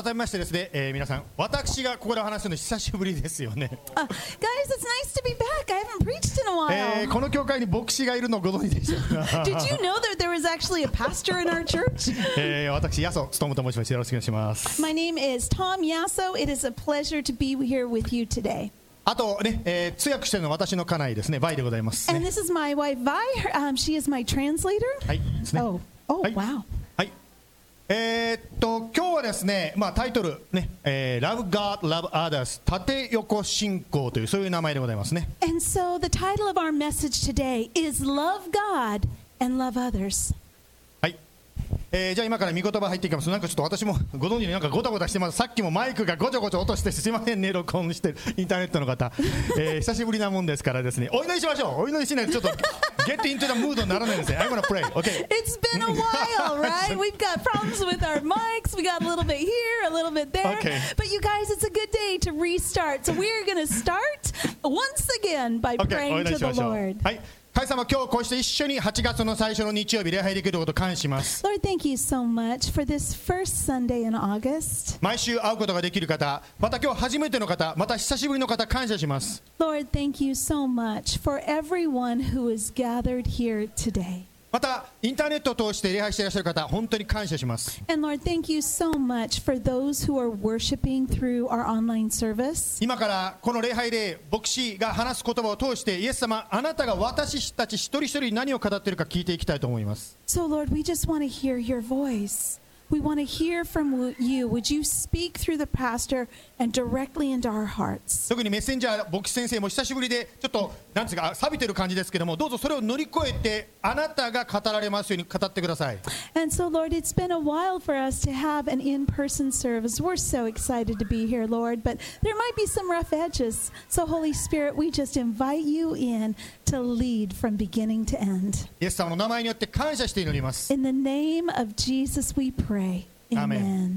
改めましてですね、皆さん、私がここでお話するの久しぶりですよね。 Guys, it's nice to be back. I haven't preached in a while. この教会に牧師がいるのをご存知でしょうか。 Did you know that there was actually a pastor in our church? 私、ヤソ務と申します。よろしくお願いします。 My name is Tom Yasso. It is a pleasure to be here with you today. あとね、通訳しているのは私の家内ですね、バイでございます、ね。 And this is my wife, Vi. She is my translator. はい、ですね。 Oh, はい、 wow. はい。今日はですね、タイトルね、Love God, Love Others 縦横信仰というそういう名前でございますね。 And so the title of our message today is Love God and Love Others. はい。じゃあ今から御言葉入っていきます。なんかちょっと私もご存知になんかゴタゴタしてます。さっきもマイクがごちょごちょ落としてすいませんね、録音してるインターネットの方、久しぶりなもんですからですね、お祈りしましょう。お祈りしないとちょっとget into the mood にならないんですね。I'm gonna pray. Okay. It's been a while, right? We've got problems with our mics. We got a little bit here, a little bit there. Okay. But you guys, it's a good day to restart. So we're going to start once again by praying to the Lord. はい。神様、今日こうして一緒に8月の最初の日曜日礼拝できることを感謝します。 Lord, thank you so much for this first Sunday in August. 毎週会うことができる方、また今日初めての方、また久しぶりの方、感謝します。 Lord, thank you so much for everyone who is gathered here today. またインターネットを通して礼拝していらっしゃる方、本当に感謝します。 And Lord, thank you so much for those who are worshiping through our online service. 今からこの礼拝で牧師が話す言葉を通してイエス様、あなたが私たち一人一人に何を語っているか聞いていきたいと思います。 So Lord, we just want to hear your voice. We want to hear from you. Would you speak through the pastor and directly into our hearts? 特にメッセンジャー牧師先生も久しぶりでちょっとなんですか錆びてる感じですけども、どうぞそれを乗り越えてあなたが語られますように語ってください。 And so Lord, it's been a while for us to have an in-person service. We're so excited to be here, Lord, but there might be some rough edges. So Holy Spirit, we just invite you in to lead from beginning to end. イエス様の名前によって感謝して祈ります。 In the name of Jesus we pray. Amen.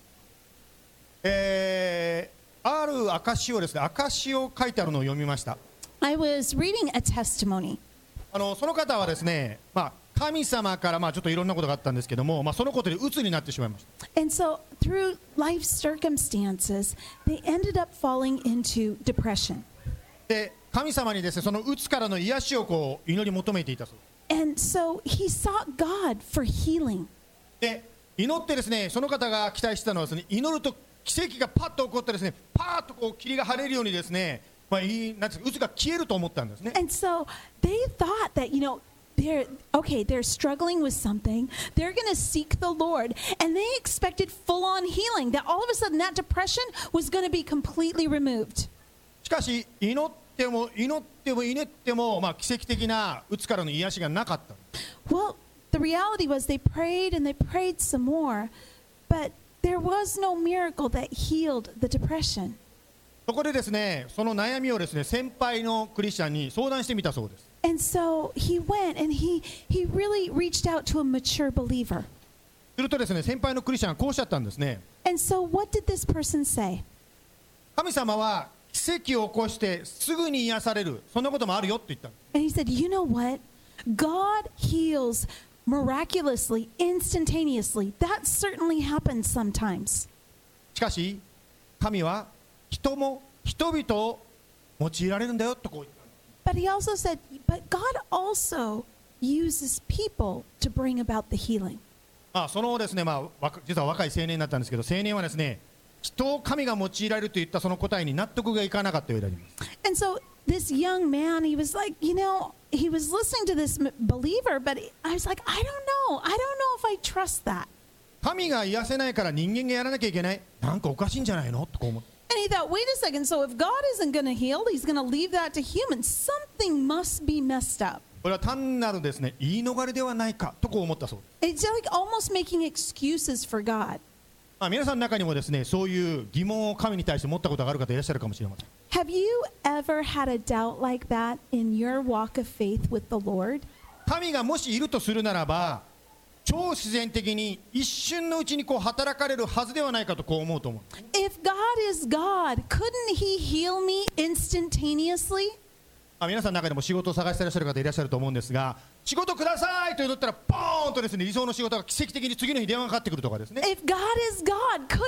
ある証をですね、証を書いてあるのを読みました。 I was reading a testimony. その方はですね、神様からちょっといろんなことがあったんですけども、そのことで鬱になってしまいました。 And so through life circumstances, they ended up falling into depression. で、神様にですね、その鬱からの癒しをこう祈り求めていたそうです。 And so he sought God for healing. で、祈ってですね、その方が期待してたのはですね、祈ると奇跡がパッと起こってですね、パーッとこう霧が晴れるようにですね、なんですか、鬱が消えると思ったんですね。 And so they thought that, they're struggling with something. They're going to seek the Lord. And they expected full-on healing, that all of a sudden that depression was going to be completely removed. しかし、祈っても奇跡的な鬱からの癒しがなかった。 Well, the reality was they prayed and they prayed some more, but there was no miracle that healed the depression. そこでですね、その悩みをですね、先輩のクリスチャンに相談してみたそうです。 And so he went and he really reached out to a mature believer. するとですね、先輩のクリスチャンはこうおっしゃったんですね。 And so what did this person say? 神様は奇跡を起こしてすぐに癒される、そんなこともあるよって言った。 And he said, you know what? God heals miraculously, instantaneously. That certainly happens sometimes. しかし、神は人々を用いられるんだよとこう言った。 But he also said, but God also uses people to bring about the healing. そのですね、実は若い青年だったんですけど、青年はですね、人を神が用いられるといったその答えに納得がいかなかったようであります。 And so this young man, he was like, he was listening to this believer, but I was like, I don't know if I trust that. 神が癒せないから人間がやらなきゃいけない、なんかおかしいんじゃないのとこう思って。 And he thought, wait a second, so if God isn't going to heal, he's going to leave that to humans. Something must be messed up. これは単なるですね、言い逃れではないかとこう思ったそうです。 It's like almost making excuses for God. 皆さんの中にもですね、そういう疑問を神に対して持ったことがある方いらっしゃるかもしれません。 Have you ever had a doubt like that in your walk of faith with the Lord? 神がもしいるとするならば、超自然的に一瞬のうちにこう働かれるはずではないかとこう思うと思う。 If God is God, couldn't he heal me instantaneously? 皆さんの中でも仕事を探していらっしゃる方いらっしゃると思うんですが、 仕事くださいと祈ったらポーンとですね、理想の仕事が奇跡的に次の日電話がかかってくるとかですね。 If God is God, couldn't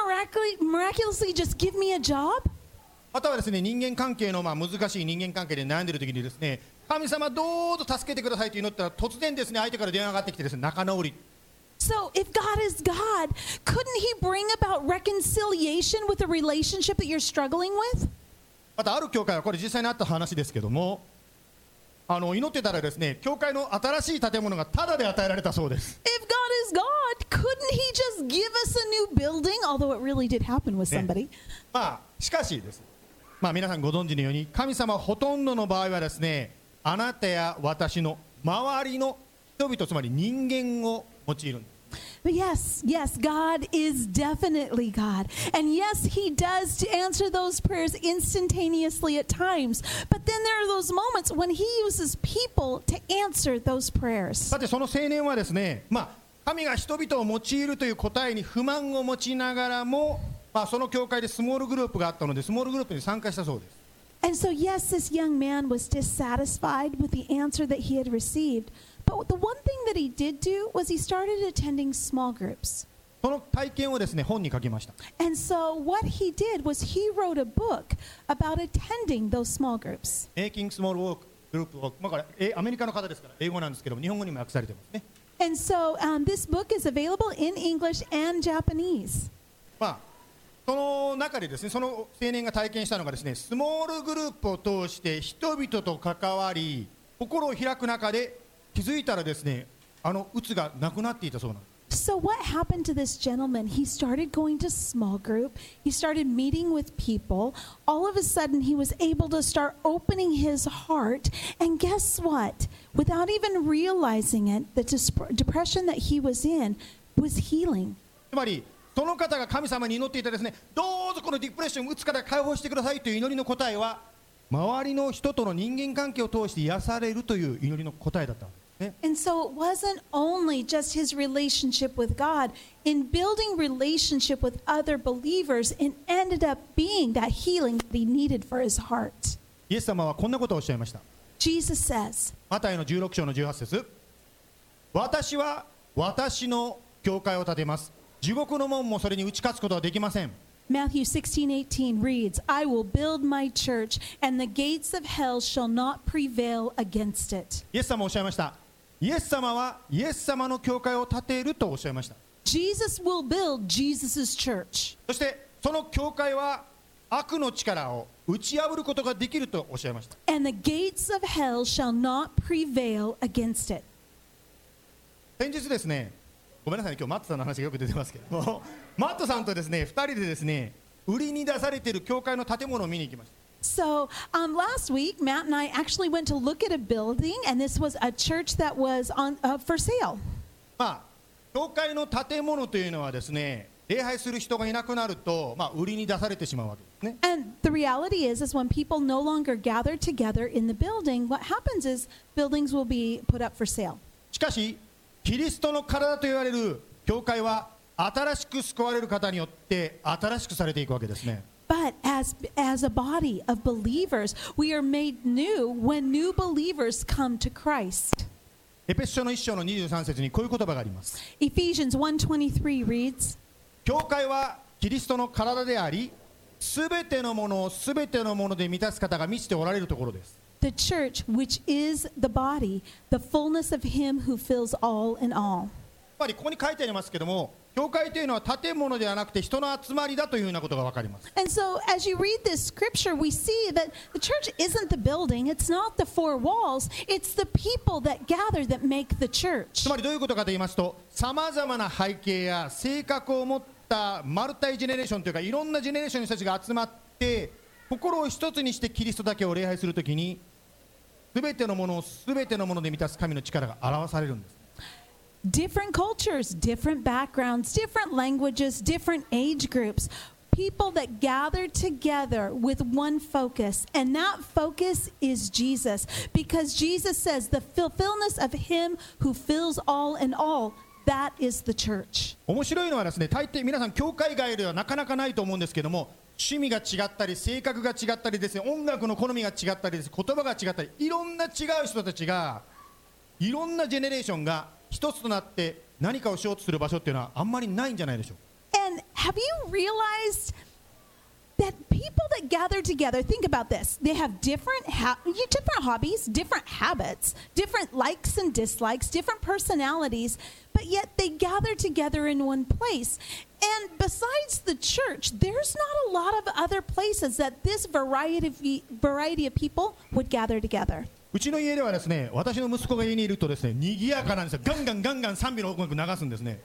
He miraculously just give me a job? またはですね、人間関係の難しい人間関係で悩んでいる時にですね、神様どうぞ助けてくださいと祈ったら突然ですね、相手から電話がかかってきてですね、仲直り。 So if God is God, couldn't He bring about reconciliation with a relationship that you're struggling with? またある教会はこれ実際にあった話ですけども、祈ってたらですね、教会の新しい建物がタダで与えられたそうです。 If God is God, couldn't He just give us a new building? Although it really did happen with somebody. しかしです、皆さんご存知のように、神様はほとんどの場合はですね、あなたや私の周りの人々、つまり人間を用いるんです。 But yes, God is definitely God. And yes, He does answer those prayers instantaneously at times. But then there are those moments when He uses people to answer those prayers. さてその青年はですね、神が人々を用いるという答えに不満を持ちながらも、その教会でスモールグループがあったので、スモールグループに参加したそうです。 And so yes, this young man was dissatisfied with the answer that he had received. But the one thing that he did do was he started attending small groups. その体験をですね、本に書きました。 And so what he did was he wrote a book about attending those small groups. Making Small Group Work、これアメリカの方ですから英語なんですけども、日本語にも訳されてますね。 And so this book is available in English and Japanese. その中でですね、その青年が体験したのがですね、スモールグループを通して人々と関わり、心を開く中で気づいたらですね、鬱がなくなっていたそうなんです。 So what happened to this gentleman? He started going to small group. He started meeting with people. All of a sudden, he was able to start opening his heart. And guess what? Without even realizing it, the depression that he was in was healing. つまりその方が神様に祈っていたですね、どうぞこのディプレッション、鬱から解放してくださいという祈りの答えは、周りの人との人間関係を通して癒されるという祈りの答えだったんですね。 And so it wasn't only just his relationship with God. In building relationship with other believers, it ended up being that healing that he needed for his heart. イエス様はこんなことをおっしゃいました。 Jesus says, マタイの16章の18節、私は私の教会を建てます。地獄の門もそれに打ち勝つことはできません。 Matthew 16:18 reads, I will build my church, and the gates of hell shall not prevail against it. イエス様はおっしゃいました。イエス様はイエス様の教会を建てるとおっしゃいました。 Jesus will build Jesus' church. そしてその教会は悪の力を打ち破ることができるとおっしゃいました。 And the gates of hell shall not prevail against it. 先日ですね、ごめんなさいね、今日マットさんの話がよく出てますけども、マットさんとですね、2人でですね、売りに出されている教会の建物を見に行きました。 So last week, Matt and I actually went to look at a building, and this was a church that was for sale. 教会の建物というのはですね、礼拝する人がいなくなると、売りに出されてしまうわけですね。 And the reality is when people no longer gather together in the building, what happens is buildings will be put up for sale. しかし、キリストの体と言われる教会は新しく救われる方によって新しくされていくわけですね。 But as a body of believers, we are made new when new believers come to Christ. エペソ書の1章の23節にこういう言葉があります。 Ephesians 1:23 reads, 教会はキリストの体であり、すべてのものをすべてのもので満たす方が満ちておられるところです。 The church, which is the body, the fullness of Him who fills all in all. ここに書いてありますけども、教会というのは建物ではなくて人の集まりだというようなことが分かります。 And so as you read this scripture, we see that the church isn't the building, it's not the four walls, it's the people that gather that make the church. つまりどういうことかと言いますと、さまざまな背景や性格を持ったマルタイジェネレーションというか、いろんなジェネレーションの人たちが集まって心を一つにしてキリストだけを礼拝するときに、すべてのものをすべてのもので満たす神の力が表されるんです。 Different cultures, different backgrounds, different languages, different age groups. People that gather together with one focus, and that focus is Jesus. Because Jesus says the fulfillment of Him who fills all in all, that is the church. 面白いのはですね、大抵皆さん教会外ではなかなかないと思うんですけども、趣味が違ったり性格が違ったりですね、音楽の好みが違ったりです、言葉が違ったり、いろんな違う人たちがいろんなジェネレーションが一つとなって何かをしようとする場所っていうのはあんまりないんじゃないでしょうか。 And have you realized that people that gather together, think about this, they have different hobbies, different habits, different likes and dislikes, different personalities, but yet they gather together in one place. And besides the church, there's not a lot of other places that this variety of people would gather together. うちの家ではですね、私の息子が家にいるとですね、賑やかなんですよ。ガンガンガンガン賛美の音楽流すんですね。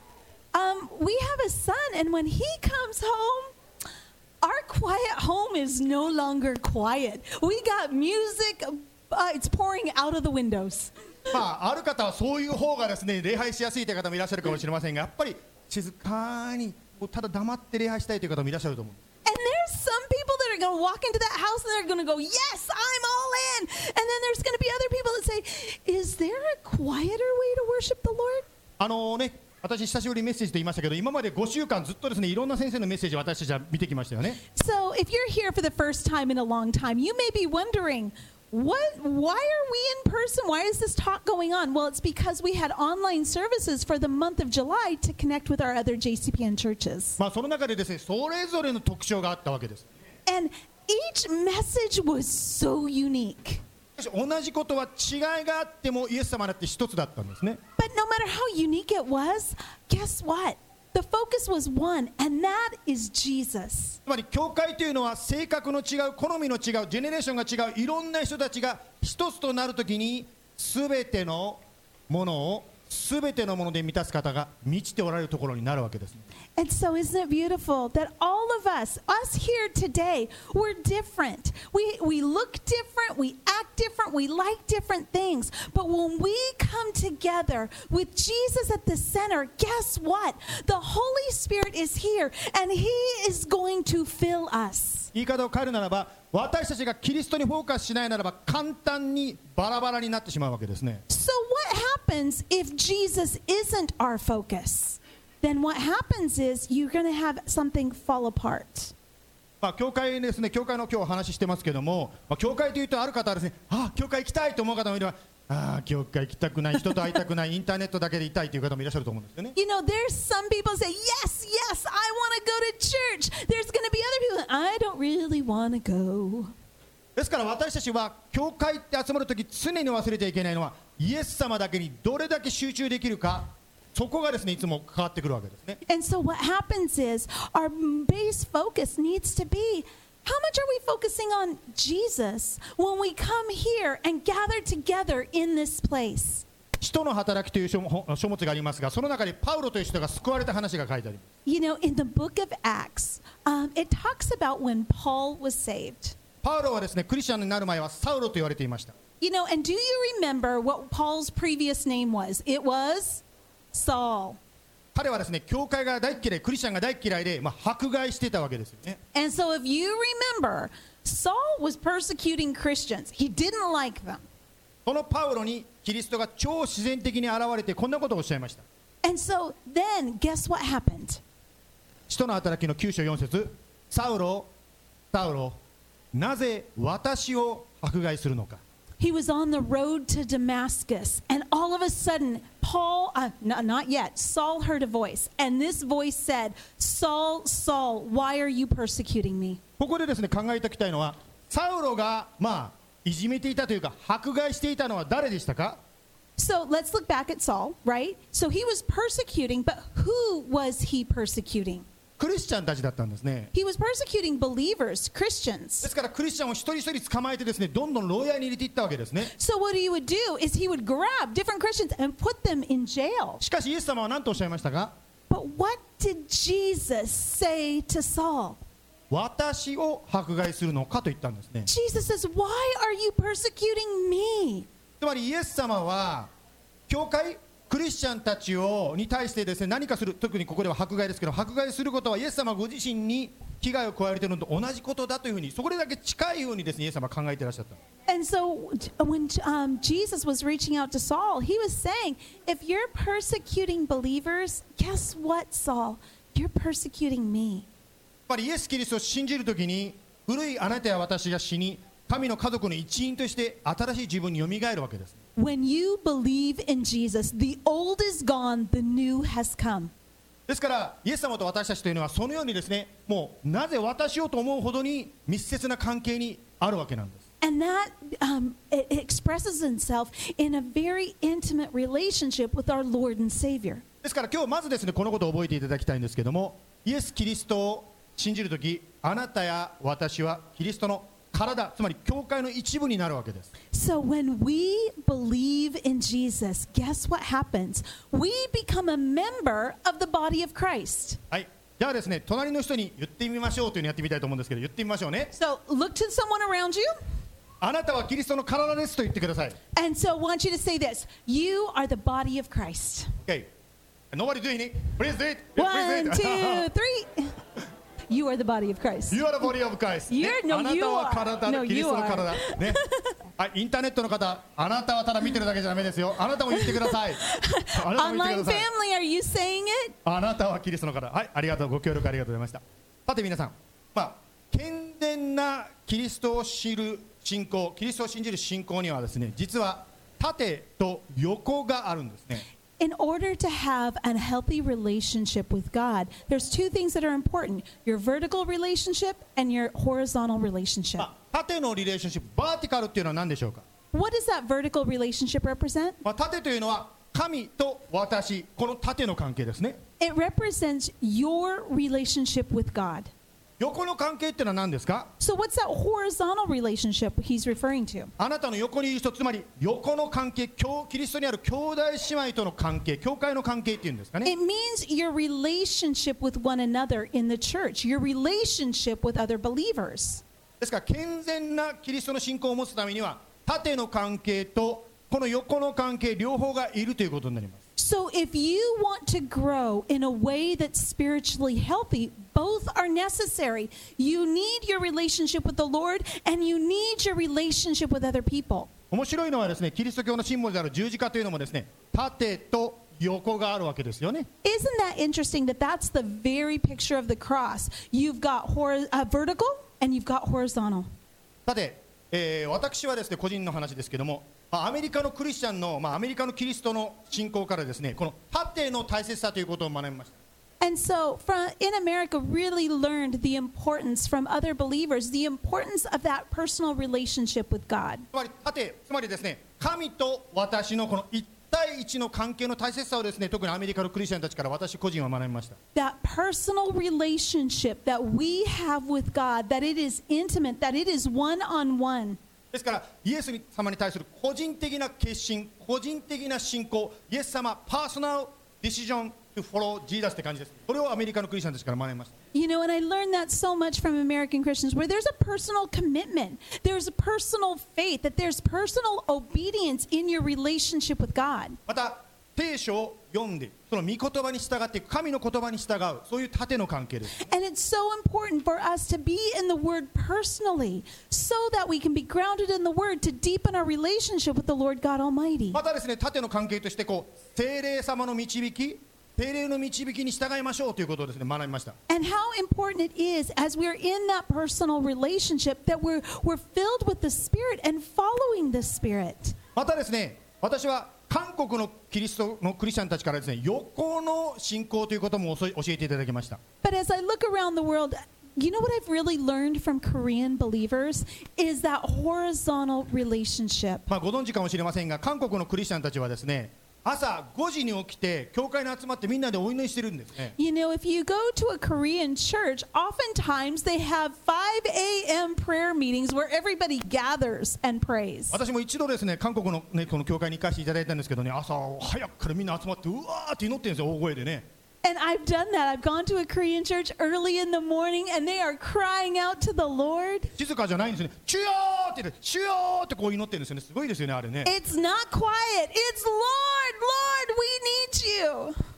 We have a son, and when he comes home, our quiet home is no longer quiet. We got music, it's pouring out of the windows. まあ、ある方はそういう方がですね、礼拝しやすいという方もいらっしゃるかもしれませんが、やっぱり静かにただ黙って礼拝したいという方もいらっしゃると思う。 And there's some people that are going to walk into that house and they're going to go, yes, I'm all in. And then there's going to be other people that say, is there a quieter way to worship the Lord? 私久しぶりにメッセージと言いましたけど、今まで5週間ずっとですね、いろんな先生のメッセージを私たちは見てきましたよね。 So if you're here for the first time in a long time, you may be wondering, why are we in person? Why is this talk going on? Well, it's because we had online services for the month of July to connect with our other JCPN churches. まあその中でですね、それぞれの特徴があったわけです。 And each message was so unique. 同じことは違いがあってもイエス様だって一つだったんですね。 But no matter how unique it was, guess what? The focus was one, and that is Jesus. つまり教会というのは性格の違う、好みの違う、ジェネレーションが違う、いろんな人たちが一つとなるときに全てのもので満たす方が満ちておられるところになるわけです。 And so isn't it beautiful that all of us here today, we're different. We look different, we act different, we like different things. But when we come together with Jesus at the center, guess what? The Holy Spirit is here and He is going to fill us. 言い方を変えるならば、私たちがキリストにフォーカスしないならば簡単にバラバラになってしまうわけですね。 So what happens if Jesus isn't our focus? Then what happens is you're going to have something fall apart. まあ教会ですね、教会の今日お話ししてますけども、教会というとある方はですね、教会行きたいと思う方もいれば、教会行きたくない、人と会いたくない、インターネットだけでいたいという方もいらっしゃると思うんですよね。 You know, there's some people who say, yes, yes, I want to go to church. There's going to be other people, I don't really want to go. ですから私たちは教会って集まるとき常に忘れちゃいけないのは、イエス様だけにどれだけ集中できるか、そこがですねいつも関わってくるわけですね。 And so what happens is our base focus needs to be, how much are we focusing on Jesus when we come here and gather together in this place? 使徒の働きという書物がありますが、その中にパウロという人が救われた話が書いてあります。 You know, in the book of Acts, it talks about when Paul was saved. パウロはですね、クリスチャンになる前はサウロと言われていました。 You know, and do you remember what Paul's previous name was? It was Saul. 彼はですね、教会が大嫌い、クリスチャンが大嫌いで、迫害していたわけですよね。 And so if you remember, Saul was persecuting Christians. He didn't like them. そのパウロにキリストが超自然的に現れてこんなことをおっしゃいました。 And so then, guess what happened? 使徒の働きの9章4節、サウロ、サウロ、なぜ私を迫害するのか。 He was on the road to Damascus, and all of a sudden, not yet, Saul heard a voice, and this voice said, Saul, Saul, why are you persecuting me? ここでですね、考えておきたいのは、サウロがいじめていたというか迫害していたのは誰でしたか？ So let's look back at Saul, right? So he was persecuting, but who was he persecuting? クリスチャンたちだったんですね。 He was persecuting believers, で Christians. すからクリスチャンを一人一人捕まえてですね、どんどん牢屋に入れていったわけですね。 So what he would do is he would grab different Christians and put them in jail. しかしイエス様は何とおっしゃいましたか？ But what did Jesus say to Saul? 私を迫害するのかと言ったんですね。 Jesus says, why are you persecuting me? つまりイエス様は教会クリスチャンたちに対してですね、何かする、特にここでは迫害ですけど、迫害することはイエス様ご自身に危害を加えているのと同じことだというふうに、それだけ近いようにですね、イエス様は考えていらっしゃった。 And so when Jesus was reaching out to Saul, he was saying, if you're persecuting believers, guess what, Saul? You're persecuting me. やっぱりイエス・キリストを信じるときに、古いあなたや私が死に、 神の家族の一員として新しい自分によみがえるわけです。 When you believe in Jesus, the old is gone, the new has come. ですからイエス様と私たちというのはそのようにですね、もうなぜ私をと思うほどに密接な関係にあるわけなんです。 And that it expresses itself in a very intimate relationship with our Lord and Savior. ですから今日まずですね、このことを覚えていただきたいんですけども、イエス・キリストを信じるとき、あなたや私はキリストの体、つまり教会の一部になるわけです。 So when we believe in Jesus, guess what happens? We become a member of the body of Christ. はい、じゃあですね、隣の人に言ってみましょうというのをやってみたいと思うんですけど、言ってみましょうね。 So look to someone around you. あなたはキリストの体ですと言ってください。 And so I want you to say this. You are the body of Christ. Okay. Nobody doing it. Please do it. One, Please do it. two, three. You are the body of Christ. You are the body of Christ. You're- ね no, あなた you は are. 体、 No, キリストの you are. 体。ね。はい、インターネットの方、あなたはただ見てるだけじゃダメですよ。あなたも言ってください。あなたも言って Online ください。 family, are you saying it? あなたはキリストの方。はい、ありがとう。ご協力ありがとうございました。さて皆さん、健全なキリストを知る信仰、キリストを信じる信仰にはですね、実は縦と横があるんですね。 In order to have a healthy relationship with God, there's two things that are important: your vertical relationship and your horizontal relationship. 縦のリレーションシップ、バーティカルっていうのは何でしょうか。 What does that vertical relationship represent? 縦というのは神と私、この縦の関係ですね。 It represents your relationship with God. 横の関係っていうのは何ですか。 So what's that horizontal relationship he's referring to? あなたの横にいる人、つまり横の関係、キリストにある兄弟姉妹との関係、教会の関係っていうんですかね。 It means your relationship with one another in the church, your relationship with other believers. ですから健全なキリストの信仰を持つためには縦の関係とこの横の関係両方がいるということになります。 So if you want to grow in a way that's spiritually healthy, both are necessary. You need your relationship with the Lord and you need your relationship with other people. 面白いのはですね、キリスト教のシンボルである十字架というのもですね、縦と横があるわけですよね。 Isn't that interesting that that's the very picture of the cross? You've got vertical and you've got horizontal. さて、私はですね、個人の話ですけども、アメリカのクリスチャンの、アメリカのキリストの信仰からですね、この縦の大切さということを学びました。 And so in America really learned the importance from other believers, the importance of that personal relationship with God. つまりですね、神と私のこの一対一の関係の大切さをですね、特にアメリカのクリスチャンたちから私個人は学びました。 That personal relationship that we have with God, that it is intimate, that it is one-on-one. ですからイエス様に対する個人的な決心、個人的な信仰、イエス様パーソナルディシジョンto follow Jesus って感じです。これをアメリカのクリスチャンたちから学びました。 You know, and I learned that so much from American Christians, where there's a personal commitment, there's a personal faith, that there's personal obedience in your relationship with God. また聖書を読んでその御言葉に従っていく、神の言葉に従う、そういう縦の関係です。 And it's so important for us to be in the Word personally, so that we can be grounded in the Word to deepen our relationship with the Lord God Almighty. またですね、縦の関係として聖霊様の導き、聖霊の導きに従いましょうということをですね、学びました。 And how important it is, as we're in that personal relationship, that we're filled with the Spirit and following the Spirit. またですね、私は韓国のキリストのクリスチャンたちからですね、横の信仰ということも教えていただきました。 But as I look around the world, you know what I've really learned from Korean believers is that horizontal relationship. ご存知かもしれませんが、韓国のクリスチャンたちはですね、朝5時に起きて教会に集まってみんなでお祈りしてるんですね。 You know, if you go to a Korean church, oftentimes they have 5 a.m. prayer meetings where everybody gathers and prays. 私も一度ですね、韓国の、この教会に行かせていただいたんですけどね、朝早くからみんな集まってうわーって祈ってるんですよ、大声でね。 And I've done that. I've gone to a Korean church early in the morning and they are crying out to the Lord. 静かじゃないんですよね。主よーって言って、主よーってこう祈ってるんですよね。すごいですよね、あれね。 It's not quiet. It's Lord, Lord, we need you.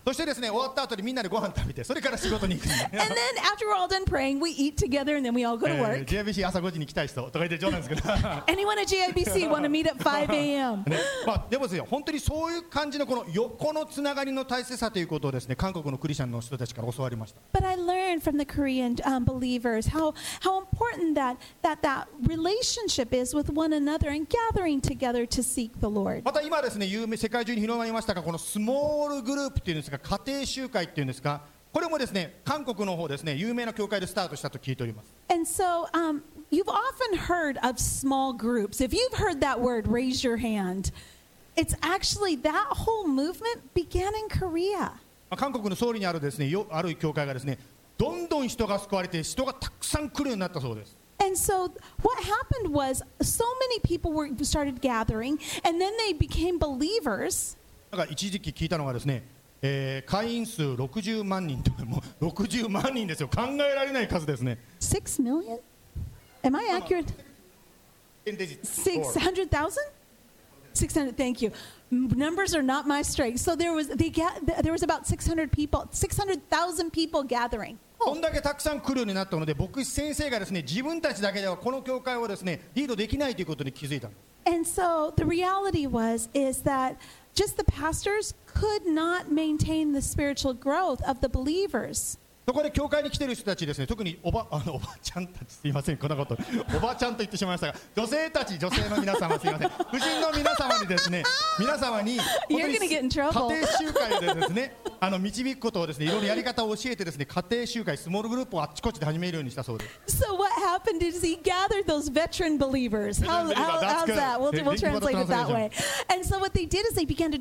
そしてですね、終わった後にみんなでご飯食べて、それから仕事に行くんで And then after we're all done praying, we eat together and then we all go to work. JIBC 朝5時に来たい人とか言って冗談ですけど Anyone at GIBC want to meet at 5 a.m.? ね、まあ、でもですよ、本当にそういう感じのこの横のつながりの大切さということをですね、韓国のクリスチャンの人たちから教わりました。 But I learned from the Korean believers how important that relationship is with one another and gathering together to seek the Lord. また今ですね、世界中に広まりましたが、このスモールグループっていうんですか、家庭集会っていうんですか、これもですね、韓国の方ですね、有名な教会でスタートしたと聞いております。 And so you've often heard of small groups. If you've heard that word, raise your hand. It's actually that whole movement began in Korea. 韓国のソウルにあるですね、ある教会がですね、どんどん人が救われて、人がたくさん来るようになったそうです。 And so what happened was so many people started gathering, and then they became believers. なんか一時期聞いたのがですね、会員数60万人とか、もう60万人ですよ。考えられない数ですね。 6 million? Am I accurate? 600,000? 600. Thank you. Numbers are not my strength. So there was about 600 people, 600,000 people gathering. こんだけたくさん来るようになったので、牧師先生がですね、自分たちだけではこの教会をですね、リードできないということに気づいた。 And so the reality is that just the pastors could not maintain the spiritual growth of the believers. そこで教会に来ている人たちですね、特におばちゃんたち、すいません、こんなことおばちゃんと言ってしまいましたが、女性の皆様、すいません、夫人の皆様にですね、皆様に本当に家庭集会でですね、導くことをですね、いろいろやり方を教えてですね、家庭集会、スモールグループをあっちこっちで始めるようにしたそうです。 So what happened is he gathered those veteran believers. How's that? We'll translate it that way. And so what they did is they began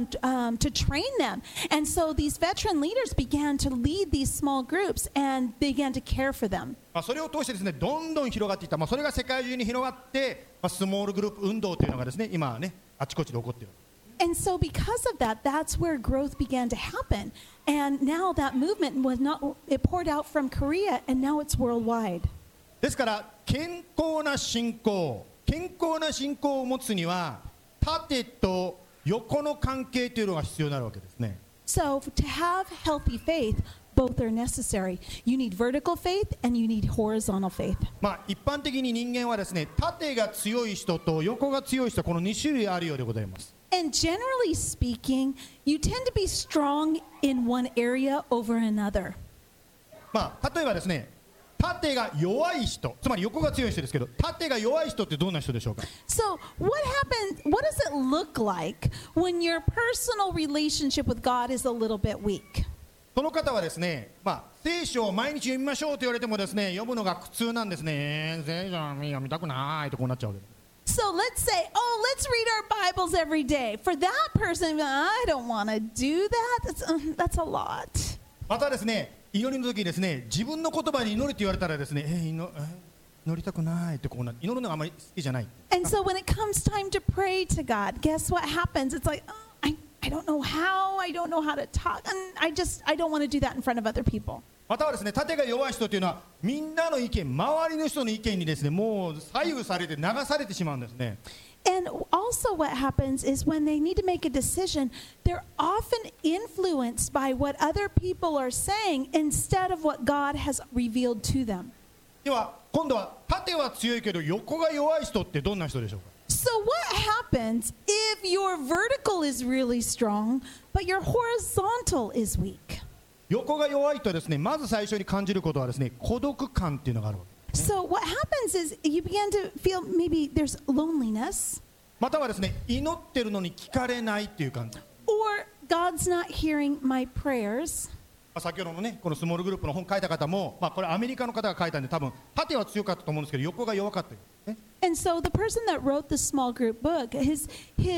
to train them. And so these veteran leaders began to lead these small groups and began to care for them. それを通してですね、どんどん広がっていった。それが世界中に広がって、スモールグループ運動というのがですね、今ね、あちこちで起こっている。 And so because of that, that's where growth began to happen. And now that movement it poured out from Korea and now it's worldwide. ですから健康な信仰を持つには縦と横の関係というのが必要になるわけですね。 So to have healthy faith, both are necessary. You need vertical faith and you need horizontal faith. 一般的に人間はですね、縦が強い人と横が強い人、この2種類あるようでございます。 And generally speaking, you tend to be strong in one area over another. 例えばですね、縦が弱い人、つまり横が強い人ですけど、縦が弱い人ってどんな人でしょうか。 So what does it look like when your personal relationship with God is a little bit weak? その方はですね、聖書を毎日読みましょうと言われてもですね、読むのが苦痛なんですね。聖書読みたくないとこうなっちゃうわけです。 So let's say, let's read our Bibles every day. For that person, I don't want to do that. That's a lot. またですね、祈りの時にですね、自分の言葉に祈りって言われたらですね、祈りたくないってこうなって、祈るのがあまり好きじゃない。 And so when it comes time to pray to God, guess what happens? It's like, I don't know how. I don't know how to talk. And I don't want to do that in front of other people. またはですね、縦が弱い人というのはみんなの意見、周りの人の意見にですね、もう左右されて流されてしまうんですね。 And also what happens is when they need to make a decision, they're often influenced by what other people are saying instead of what God has revealed to them. では今度は縦は強いけど横が弱い人ってどんな人でしょうか。 So what happens if your vertical is really strong, but your horizontal is weak? 横が弱いとですね、まず最初に感じることはですね、孤独感っていうのがあるわけですね。 So what happens is you begin to feel maybe there's loneliness. またはですね、祈ってるのに聞かれないっていう感じ。 Or God's not hearing my prayers. 先ほどのね、このスモールグループの本書いた方も、これアメリカの方が書いたんで、多分縦は強かったと思うんですけど、横が弱かったよね。 And so the person that wrote the small group book, his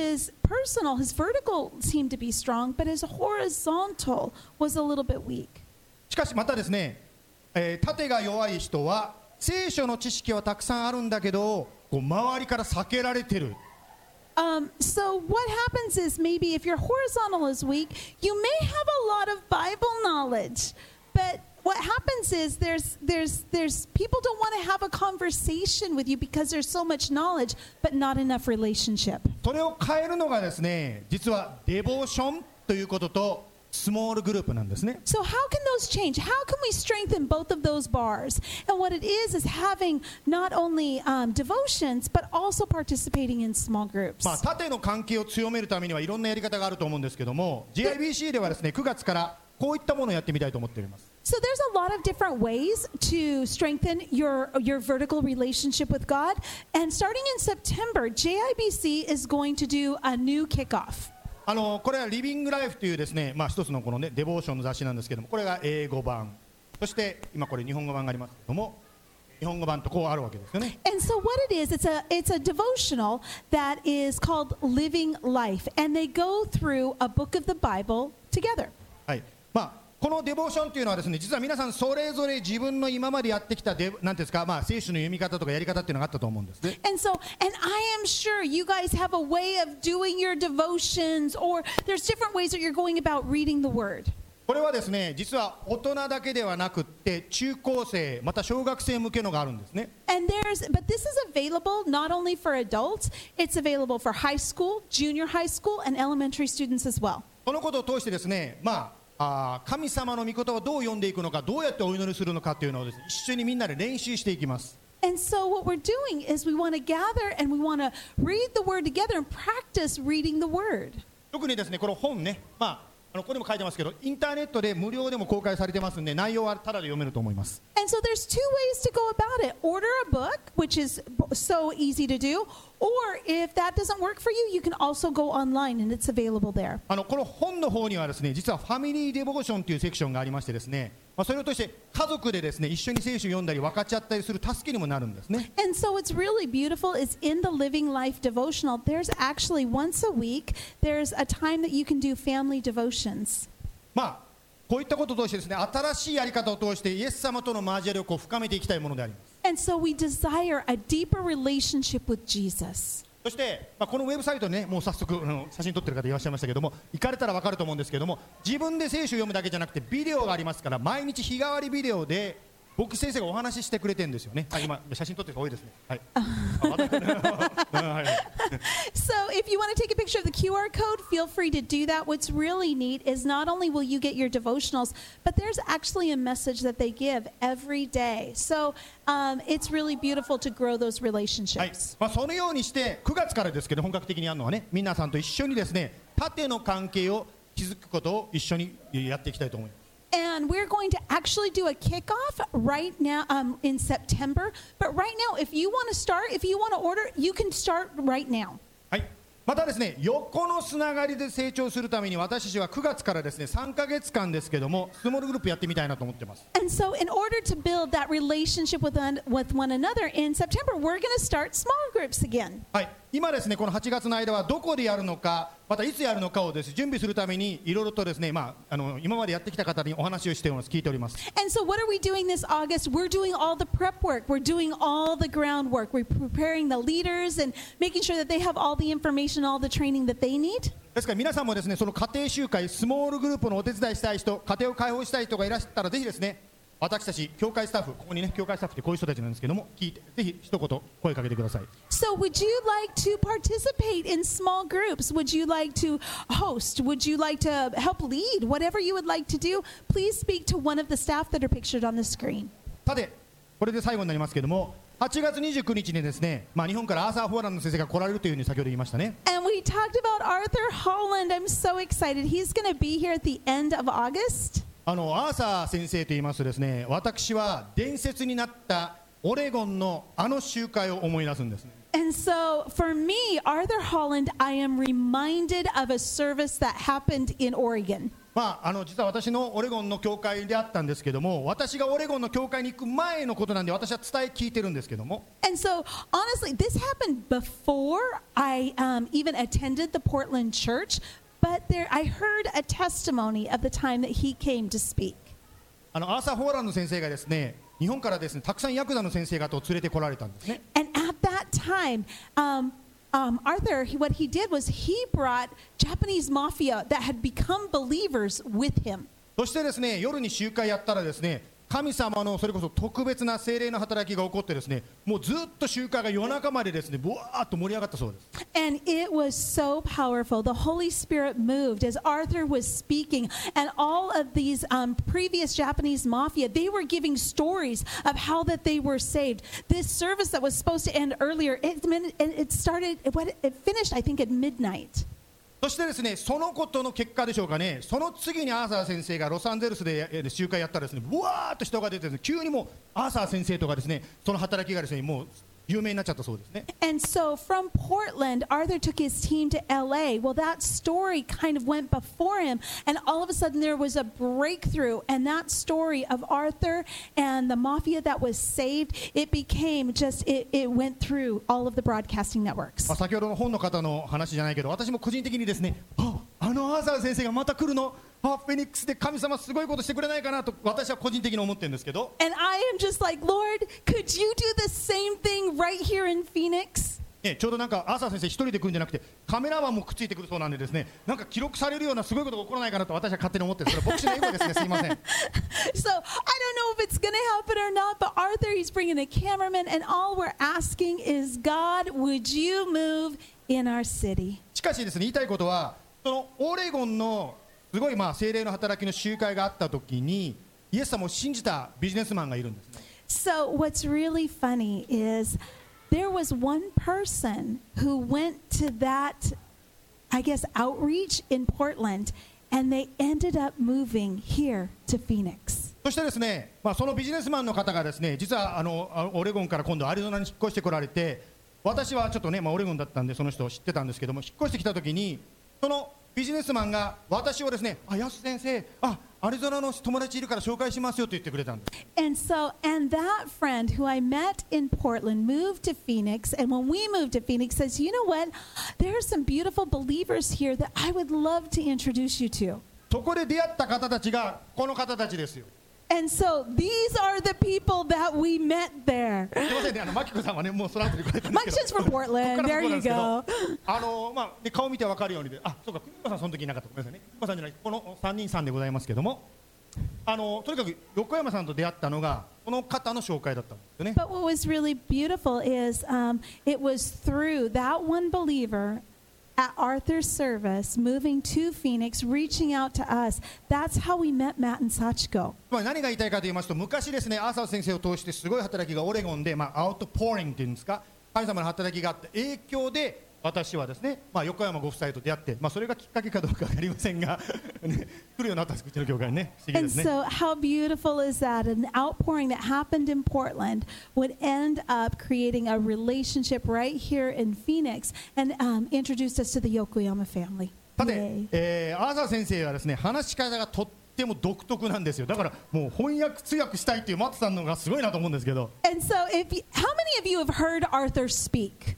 vertical seemed to be strong, but his horizontal was a little bit weak. しかしまたですね、縦が弱い人は聖書の知識はたくさんあるんだけど、こう周りから避けられてる。 So what happens is maybe if your horizontal is weak, you may have a lot of Bible knowledge, but what happens is there's people don't want to have a conversation with you because there's so much knowledge, but not enough relationship. それを変えるのがですね、実はデボーションということとスモールグループなんですね。 So how can those change? How can we strengthen both of those bars? And what it is having not only devotions, but also participating in small groups. 縦の関係を強めるためにはいろんなやり方があると思うんですけども、 GIBC ではですね、9月からこういったものをやってみたいと思っております。 So there's a lot of different ways to strengthen your vertical relationship with God. And starting in September, JIBC is going to do a new kickoff. これはリビングライフというですね、一つのこのねデボーションの雑誌なんですけども、これが英語版、そして今これ日本語版がありますけども、日本語版とこうあるわけですよね。 And so what it is, it's a devotional that is called Living Life, and they go through a book of the Bible together. はい。このデボーションというのはですね、実は皆さんそれぞれ自分の今までやってきたなんていうんですか、聖書の読み方とかやり方っていうのがあったと思うんですね。 And I am sure you guys have a way of doing your devotions, or there's different ways that you're going about reading the Word. これはですね、実は大人だけではなくって中高生また小学生向けのがあるんですね。 But this is available not only for adults, it's available for high school, junior high school, and elementary students as well. このことを通してですね、神様の御言葉をどう読んでいくのか、どうやってお祈りするのかというのをですね、一緒にみんなで練習していきます。 And so what we're doing is we want to gather and we want to read the Word together and practice reading the Word. 特にですね、この本ね、ここにも書いてますけど、インターネットで無料でも公開されてますんで、内容はただで読めると思います。 And so there's two ways to go about it. Order a book, which is so easy to do, or if that doesn't work for you, you can also go online and it's available there. この本の方にはですね、実はファミリーデボーションというセクションがありましてですね、それを通して家族でですね、一緒に聖書を読んだり分かち合ったりする助けにもなるんですね。 And so what's really beautiful is in the Living Life devotional, there's actually once a week, there's a time that you can do family devotions. こういったことを通してですね、新しいやり方を通してイエス様との交わりを深めていきたいものであります。 And so we desire a deeper relationship with Jesus. そして、このウェブサイトね、もう早速写真撮ってる方いらっしゃいましたけども、行かれたら分かると思うんですけども、自分で聖書を読むだけじゃなくてビデオがありますから、毎日日替わりビデオで僕先生がお話ししてくれてるんですよね。今写真撮ってる人多いですね。はい。 So if you want to take a picture of the QR code, feel free to do that. What's really neat is not only will you get your devotionals, but there's actually a message that they give every day. So it's really beautiful to grow those はい。 relationships. そのようにして9月からですけど、本格的にやるのはね、皆さんと一緒にですね、縦の関係を築くことを一緒にやっていきたいと思います。 And we're going to actually do a kickoff right now in September. But right now, if you want to start, if you want to order, you can start right now. はい。またですね、横のつながりで成長するために私たちは9月からですね、3ヶ月間ですけども、スモールグループやってみたいなと思ってます。 And so in order to build that relationship with one another in September, we're going to start small groups again. はい。今ですね、この8月の間はどこでやるのか、またいつやるのかをですね、準備するためにいろいろとですね、今までやってきた方にお話をしております。聞いております。 And so what are we doing this August? We're doing all the prep work. We're doing all the groundwork. We're preparing the leaders and making sure that they have all the information, all the training that they need. ですから皆さんもですね、その家庭集会、スモールグループのお手伝いしたい人、家庭を開放したい人がいらっしゃったら、ぜひですね、私たち教会スタッフ、ここにね、教会スタッフってこういう人たちなんですけども、聞いてぜひ一言声かけてください。 So would you like to participate in small groups? Would you like to host? Would you like to help lead? Whatever you would like to do, please speak to one of the staff that are pictured on the screen. さて、これで最後になりますけども、8月29日にですね、日本からアーサー・フォーランド先生が来られるというふうに先ほど言いましたね。 And we talked about Arthur Holland. I'm so excited. He's going to be here at the end of August. アーサー先生と言いますとですね、私は伝説になったオレゴンの集会を思い出すんですね。 And so for me, Arthur Holland, I am reminded of a service that happened in Oregon. 実は私のオレゴンの教会であったんですけども、私がオレゴンの教会に行く前のことなんで、私は伝え聞いてるんですけども。 And so honestly, this happened before I even attended the Portland church. But I heard a testimony of the time that he came to speak. アーサー・フォーランド先生がですね、日本からですね、たくさんヤクザの先生方を連れてこられたんですね。 And at that time, Arthur, what he did was he brought Japanese mafia that had become believers with him. そしてですね、夜に集会やったらですね、 神様のそれこそ特別な聖霊の働きが起こってですね、もうずっと集会が夜中までですね、ぶわーっと盛り上がったそうです。 And it was so powerful. The Holy Spirit moved as Arthur was speaking, and all of these previous Japanese mafia, they were giving stories of how that they were saved. This service that was supposed to end earlier, it finished, I think, at midnight. そしてですね、そのことの結果でしょうかね、その次にアーサー先生がロサンゼルスで集会やったらですね、ぶわーっと人が出てですね、急にもうアーサー先生とかですね、その働きがですね、もう有名になっちゃったそうですね。 And so from Portland, Arthur took his team to LA. Well, that story kind of went before him, and all of a sudden there was a breakthrough, and that story of Arthur and the mafia that was saved, it became just, it went through all of the broadcasting networks. 先ほどの本の方の話じゃないけど、私も個人的にですね、あのアーサー先生がまた来るの、フェニックスで神様すごいことしてくれないかなと私は個人的に思ってるんですけど。 And I am just like, Lord, could you do the same thing right here in Phoenix? ちょうどなんかアーサー先生一人で来るんじゃなくてカメラマンもくっついてくるそうなんでですね、なんか記録されるようなすごいことが起こらないかなと私は勝手に思ってる。それは牧師の英語ですね、すいません。 So I don't know if it's going to happen or not, but Arthur, he's bringing a cameraman, and all we're asking is, God, would you move in our city? しかしですね、言いたいことは、そのオレゴンのすごい聖霊の働きの集会があった時にイエス様を信じたビジネスマンがいるんですね。 So what's really funny is there was one person who went to that, I guess, outreach in Portland, and they ended up moving here to Phoenix. そしてですね、そのビジネスマンの方がですね、実はオレゴンから今度アリゾナに引っ越してこられて、私はちょっとね、オレゴンだったんでその人を知ってたんですけども、引っ越してきた時にそのビジネスマンが私をですね、ヤス先生、アリゾナの友達いるから紹介しますよと言ってくれたんです。 And that friend who I met in Portland moved to Phoenix, and when we moved to Phoenix says, you know what, there are some beautiful believers here that I would love to introduce you to. そこで出会った方たちがこの方たちですよ。 And so these are the people that we met there. すみませんね、マキコさんはね、もうその後に来られたんですけど。 Maki's just from Portland. There you go. 顔見て分かるようにで、そうか、久美子さんその時いなかった。ごめんなさいね。久美子さんじゃない、この3人さんでございますけども、とにかく横山さんと出会ったのがこの方の紹介だったんですよね。 But what was really beautiful is it was through that one believer at Arthur's service, moving to Phoenix, reaching out to us. That's how we met Matt and Sachiko. 何が言いたいかと言いますと、昔ですね、アーサー先生を通してすごい働きがオレゴンで、アウトポーリングっていうんですか、神様の働きがあった影響で私はですね、横山ご夫妻と出会って、それがきっかけかどうか分かりませんが、ね、来るようになったんです、うちの教会にね。不思議ですね。 And so how beautiful is that? An outpouring that happened in Portland would end up creating a relationship right here in Phoenix and introduced us to the Yokoyama family. さて、アーサー先生はですね、話し方がとっても独特なんですよ。だからもう翻訳通訳したいっていうマットさんのがすごいなと思うんですけど。 And so how many of you have heard Arthur speak?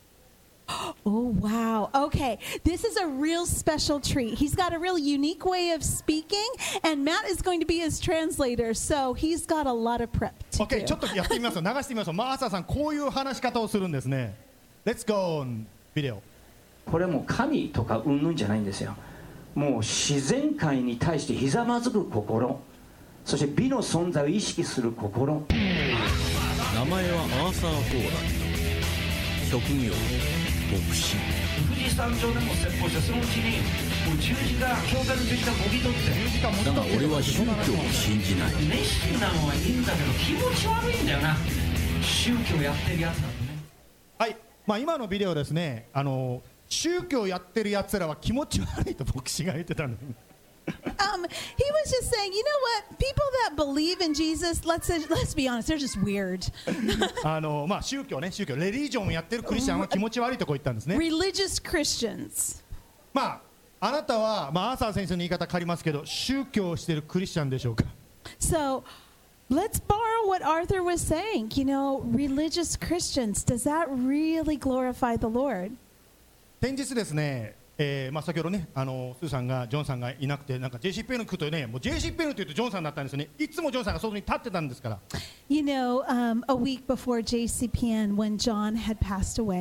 Oh, wow. Okay. This is a real special treat. He's got a real unique way of speaking, and Matt is going to be his translator, so he's got a lot of prep to do. Okay, ちょっとやってみますよ。流してみますよ。アーサーさん、こういう話し方をするんですね。Let's go on video. これもう神とかうんぬんじゃないんですよ。もう自然界に対してひざまずく心、そして美の存在を意識する心。 名前はアーサー・フォーランド。職業牧師。 富士山上でも説法して、そのうちにもう十字架、教会の十字架もぎ取って。 だが俺は宗教を信じない。 熱心なのはいいんだけど気持ち悪いんだよな、宗教やってるやつだとね。 はい、今のビデオですね、宗教やってるやつらは気持ち悪いと牧師が言ってたんです。 He was just saying, you know what? People that believe in Jesus, let's be honest, they're just weird. 宗教ね、レリジョンをやってるクリスチャンは気持ち悪いとこ言ったんですね。 Religious Christians. あなたは、アーサー先生の言い方変わりますけど、宗教をしているクリスチャンでしょうか。 So, let's borrow what Arthur was saying. You know, religious Christians, does that really glorify the Lord? 先日ですね、先ほどね、スーさんがジョンさんがいなくて、なんか JC ペンの来るとね、もう JC ペンのというとジョンさんだったんですよね。いつもジョンさんが外に立ってたんですから。 You know, a week before JCPN, when John had passed away.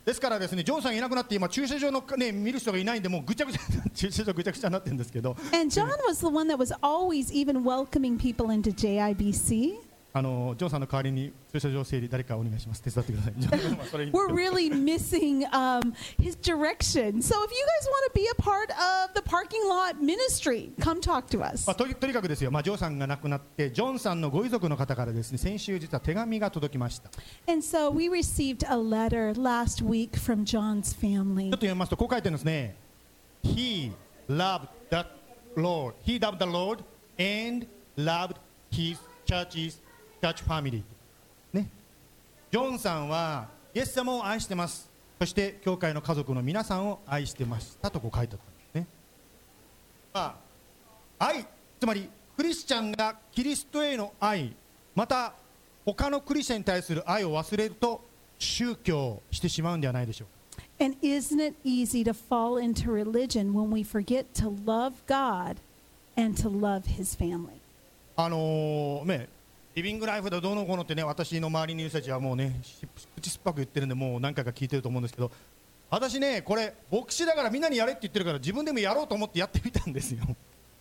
ですからですね、ジョンさんがいなくなって今駐車場のね見る人がいないんで、もうぐちゃぐちゃ駐車場ぐちゃぐちゃになってるんですけど、 And John was the one that was always even welcoming people into JIBC. ジョンさんの代わりに駐車場整理誰かお願いします。手伝ってください。それいいんです We're けど really missing his direction. So if you guys want to be a part of the parking lot ministry, come talk to us. まあ、とにかくですよ、まあ、ジョンさんが亡くなってジョンさんのご遺族の方からですね、先週実は手紙が届きました。ち And so we received a letter last week from John's ょ family. っと読みますとこう書いてるんですね。He loved the Lord. He loved the Lord and loved his church family. ね。ジョンさんはイエス様を愛してます。そして教会の家族の皆さんを愛してましたとこう書いてあったんですね。まあ、愛、つまりクリスチャンがキリストへの愛、また他のクリスチャンに対する愛を忘れると宗教してしまうんではないでしょうか。 And isn't it easy to fall into religion when we forget to love God and to love his family? ね、リビングライフでどうのこうのってね、私の周りにいる人たちはもうね、口酸っぱく言ってるんで、もう何回か聞いてると思うんですけど、私ね、これ牧師だからみんなにやれって言ってるから自分でもやろうと思ってやってみたんですよ。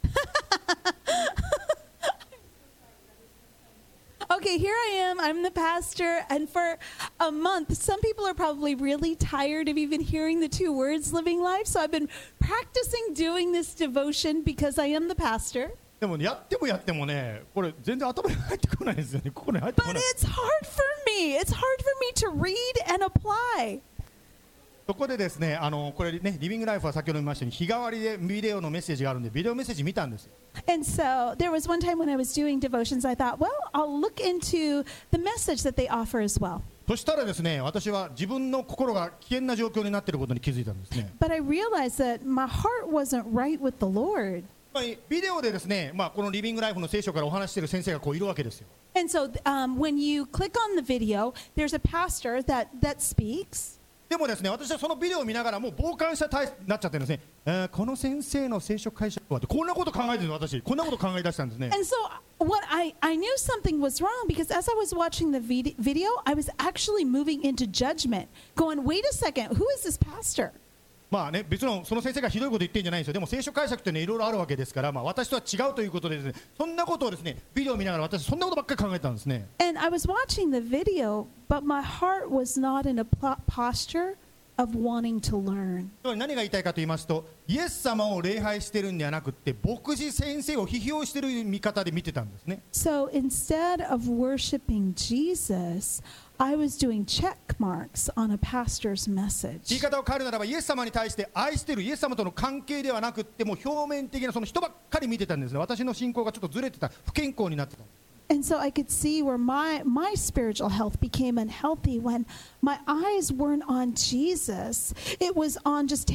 Okay, here I am. I'm the pastor. And for a month, some people are probably really tired of even hearing the two words living life. So I've been practicing doing this devotion because I am the pastor. でもやってもね、これ全然頭に入ってこないですよね。ここに入ってこ But ない。 it's hard for me. It's hard for me to read and apply. そこでですね、これね、リビングライフは先ほど見ましたように日替わりでビデオのメッセージがあるんで、ビデオメッセージ見たんですよ。 And so there was one time when I was doing devotions, I thought, well, I'll look into the message that they offer as well. そしたらですね、私は自分の心が危険な状況になっていることに気づいたんですね。 But I realized that my heart wasn't right with the Lord. まあビデオでですね、まあ、このリビングライフの聖書からお話している先生がこういるわけですよ。 And so when you click on the video, there's a pastor that speaks. でもですね、私はそのビデオを見ながらもう傍観者体になっちゃってるんですね。この先生の聖書解釈はってこんなこと考えてるの、私こんなこと考え出したんですね。 And so what I knew something was wrong because as I was watching the video, I was actually moving into judgment, going, wait a second, who is this pastor? まあね、別のその先生がひどいこと言ってるんじゃないんですよ。でも聖書解釈ってね、いろいろあるわけですから、まあ、私とは違うということでですね、そんなことをですね、ビデオを見ながら私そんなことばっかり考えてたんですね。 And I was watching the video, but my heart was not in a posture of wanting to learn. 何が言いたいかと言いますと、イエス様を礼拝してるんではなくって牧師先生を批評してる見方で見てたんですね。 So instead of worshiping Jesus, I was doing check marks on a pastor's 言い message. 方を変えるならば、イエス様に対して愛してるイエス様との関係ではなくってもう表面的なその人ばっかり見てたんですね。私の信仰がちょっとずれてた、不健康になってた。 And so I could see where my spiritual health became unhealthy when my eyes weren't on Jesus. It was on just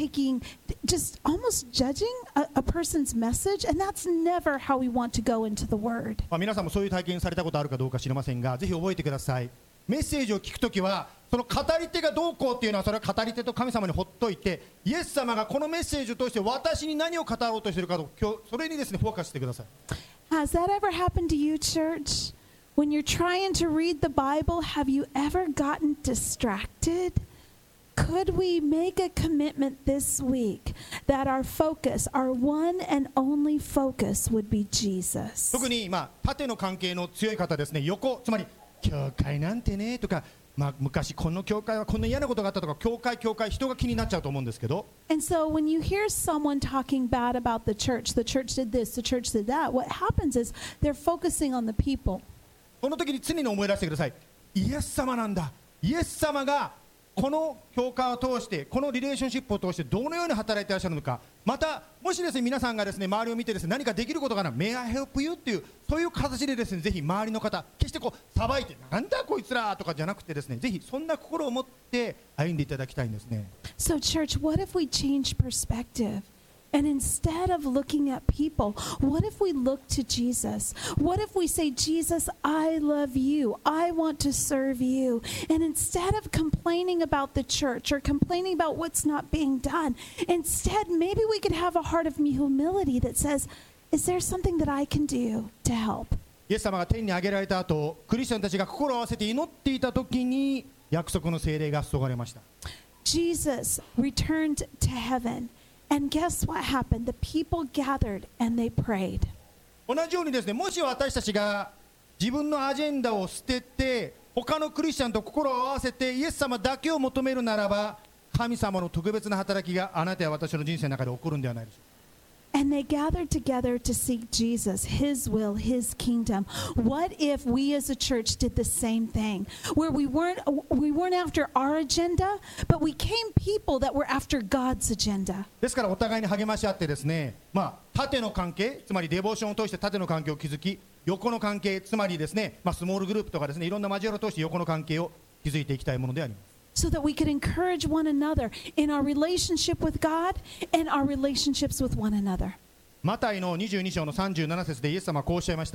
almost judging a person's message. And that's never how we want to go into the Word. まあ、皆さんもそういう体験されたことあるかどうか知りませんが、ぜひ覚えてください。メッセージを聞くときはその語り手がどうこうっていうのはそれは語り手と神様にほっといて、イエス様がこのメッセージを通して私に何を語ろうとしているかと、それにですねフォーカスしてください。 Has that ever happened to you, church? When you're trying to read the Bible, have you ever gotten distracted? Could we make a commitment this week that our focus, our one and only focus would be Jesus? 特にまあ縦の関係の強い方ですね、横、つまり教会なんてねとか、まあ、昔この教会はこんな嫌なことがあったとか、教会人が気になっちゃうと思うんですけど、 And so when you hear someone talking bad about the church did this, the church did that, what happens is they're focusing on the people. その時に常に思い出してください。イエス様なんだ。イエス様がこの教会を通してこのリレーションシップを通してどのように働いていらっしゃるのか、またもしですね皆さんがですね周りを見てですね何かできることがあるなら May I help you っていうそういう形でですねぜひ周りの方決してこうさばいてなんだこいつらとかじゃなくてですねぜひそんな心を持って歩んでいただきたいんですね。 So church, what if we change perspective? And instead of looking at people, what if we look to Jesus? What if we say, Jesus, I love you. I want to serve you. And instead of complaining about the church or complaining about what's not being done, instead, maybe we could have a heart of humility that says, is there something that I can do to help? イエス様が天に上げられた後、クリスチャンたちが心を合わせて祈っていた時に約束の聖霊が注がれました。 Jesus returned to heaven, and guess what happened? The people gathered and they prayed. 同じようにですね、もし私たちが自分のアジェンダを捨てて他のクリスチャンと心を合わせてイエス様だけを求めるならば、神様の特別な働きがあなたや私の人生の中で起こるんではないでしょうか。 And they gathered together to seek Jesus, His will, His kingdom. What if we as a church did the same thing, where we weren't after our agenda, but we came people that were after God's agenda? ですからお互いに励まし合ってですね、縦の関係、つまりデボーションを通して縦の関係を築き、横の関係、つまりですね、スモールグループとかですね、いろんな交わりを通して横の関係を築いていきたいものであります。 So that we could encourage one another in our relationship with God and our relationships with one another. マタイの22章の37節でイエス様はこうおっしゃいました。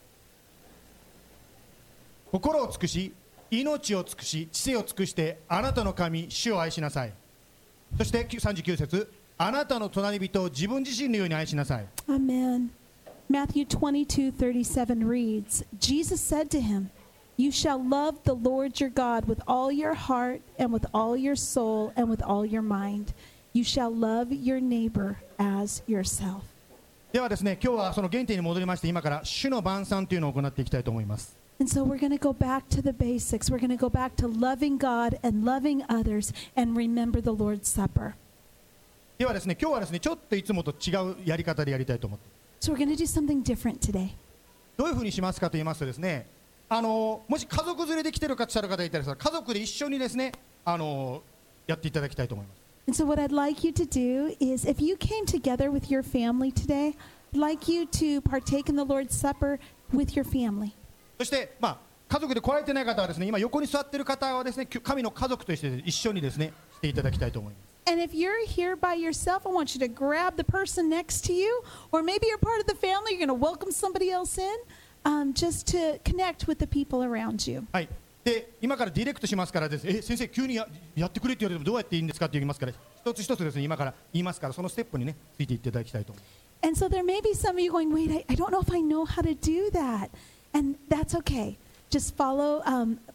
心を尽くし、命を尽くし、知性を尽くしてあなたの神、主を愛しなさい。そして39節、あなたの隣人を自分自身のように愛しなさい。 Amen. Matthew 22:37 reads, Jesus said to him, You shall love the Lord your God with all your heart and with all your soul and with all your mind. You shall love your neighbor as yourself. ではですね、今日はその原点に戻りまして、今から主の晩餐というのを行っていきたいと思います。 And so we're going to go back to the basics. We're going to go back to loving God and loving others and remember the Lord's Supper. ではですね、今日はですね、ちょっといつもと違うやり方でやりたいと思って。 So we're going to do something different today. どういうふうにしますかと言いますとですね、もし家族連れで来てる方がいたら家族で一緒にですね、やっていただきたいと思います。 And so what I'd like you to do is, if you came together with your family today, I'd like you to partake in the Lord's Supper with your family. そして、家族で来られてない方はですね、今横に座っている方はですね、神の家族として一緒にですね、していただきたいと思います。 And if you're here by yourself, I want you to grab the person next to you, or maybe you're part of the family, you're going to welcome somebody else in.Just to connect with the people around you. はい。で、今からディレクトしますからです。先生急に やってくれって言われてもどうやっていいんですかって言いますから、一つ一つですね、今から言いますから、そのステップにね、ついていっていただきたいと思います。 And so there may be some of you going, wait, I don't know if I know how to do that. And that's okay. Just follow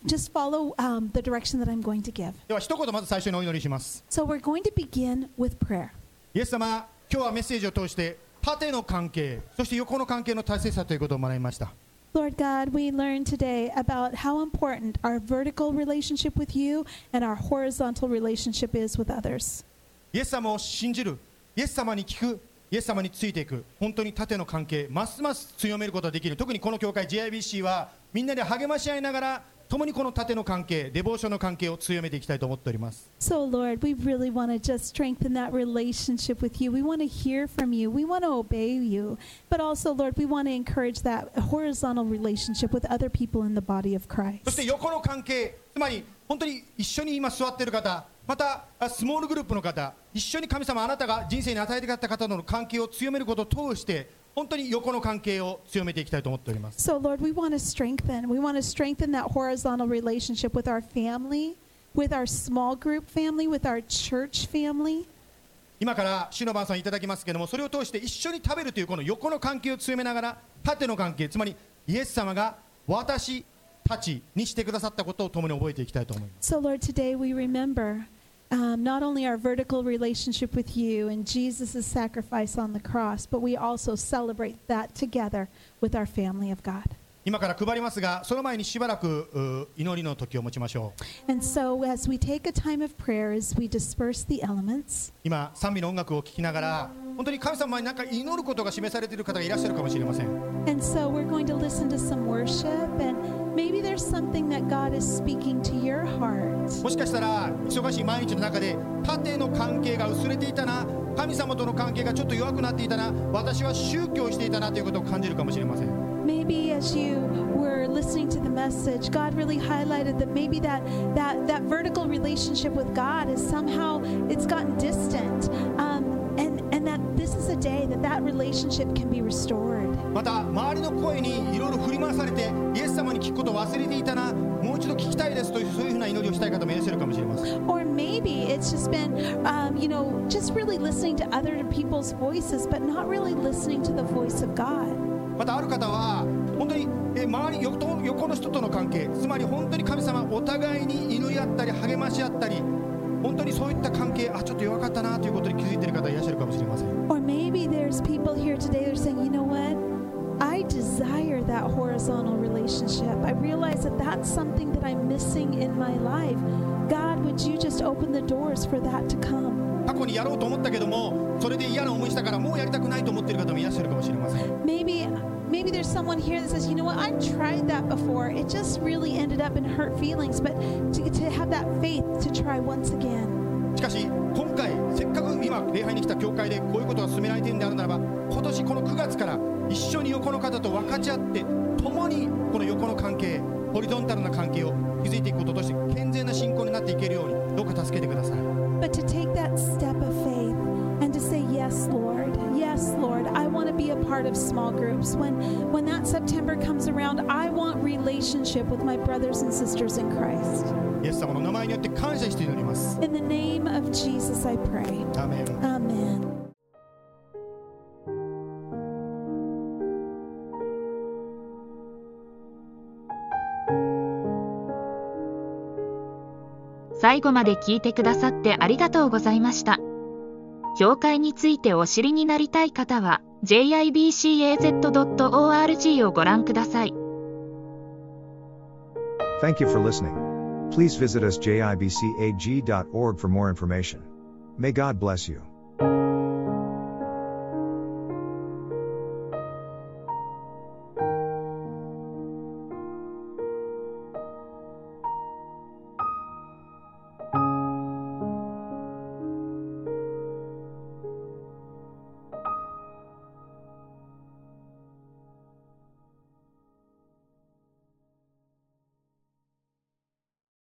the direction that I'm going to give. では一言まず最初にお祈りします。 So we're going to begin with prayer. イエス様、今日はメッセージを通して縦の関係、そして横の関係の大切さということを学びました。 Lord God, we learned today about how important our vertical relationship with you and our horizontal relationship is with others. イエス様を信じる、イエス様に聞く、イエス様についていく、本当に縦の関係、ますます強めることができる。特にこの教会 JIBC はみんなで励まし合いながら、共にこの縦の関係、デボーションの関係を強めていきたいと思っております。 So Lord, we really want to just strengthen that relationship with you. We want to hear from you. We want to obey you. But also, Lord, we want to encourage that horizontal relationship with other people in the body of Christ. そして横の関係、つまり本当に一緒に今座っている方、またスモールグループの方、一緒に神様あなたが人生に与えてくださった方との関係を強めることを通して、本当に横の関係を強めていきたいと思っております。 So Lord, we want to strengthen that horizontal relationship with our family, with our small group family, with our church family. 今から主の晩餐いただきますけれども、それを通して一緒に食べるというこの横の関係を強めながら、縦の関係、つまりイエス様が私たちにしてくださったことを共に覚えていきたいと思います。 So Lord, today we remember.Not only our vertical relationship with you and Jesus' sacrifice on the cross, but we also celebrate that together with our family of God. 今から配りますが、その前にしばらく祈りの時を持ちましょう。 And so as we take a time of prayer, as we disperse the elements, 今賛美の音楽を聴きながら、本当に神様に何か祈ることが示されている方がいらっしゃるかもしれません。 And so we're going to listen to some worship, and maybe there's something that God is speaking to your heart. もしかしたら忙しい毎日の中で縦の関係が薄れていたな、神様との関係がちょっと弱くなっていたな、私は宗教をしていたなということを感じるかもしれません。 Maybe as you were listening to the message, God really highlighted that maybe that vertical relationship with God is somehow it's gotten distant, and that this is a day that relationship can be restored. また周りの声にいろいろ振り回されてイエス様に聞くことを忘れていたな、もう一度聞きたいですというそういうふうな祈りをしたい方もいらっしゃるかもしれません。 Or maybe it's just been, just really listening to other people's voices, but not really listening to the voice of God. またある方は本当に周り横の人との関係、つまり本当に神様お互いに祈り合ったり励まし合ったり、 本当にそういった関係、ちょっと弱かったなということに気づいている方いらっしゃるかもしれません。 Or maybe there's people here today that are saying, you know what? I desire that horizontal relationship. I realize that that's something that I'm missing in my life. God, would you just open the doors for that to come? 過去にやろうと思ったけども、それで嫌な思いしたからもうやりたくないと思っている方もいらっしゃるかもしれません。 Maybe there's someone here that says, you know what, I've tried that before. It just really ended up in hurt feelings. But to have that faith to try once again. しかし今回せっかく今礼拝に来た教会でこういうことが進められているのであるならば、今年この9月から一緒に横の方と分かち合って共にこの横の関係、ホリゾンタルな関係を築いていくこととして健全な信仰になっていけるようにどうか助けてください。 But to take that step of faith and to say, yes, Lord, I want to be a part of small groups. When that September comes around, I want relationship with my brothers and sisters in Christ. イエス様の名前によって感謝して祈ります。 In the name of Jesus, I pray. アーメン。 Amen. 最後まで聞いてくださってありがとうございました。教会についてお知りになりたい方は jibcaz.org をご覧ください。 Thank you for listening. Please visit us jibcag.org for more information. May God bless you.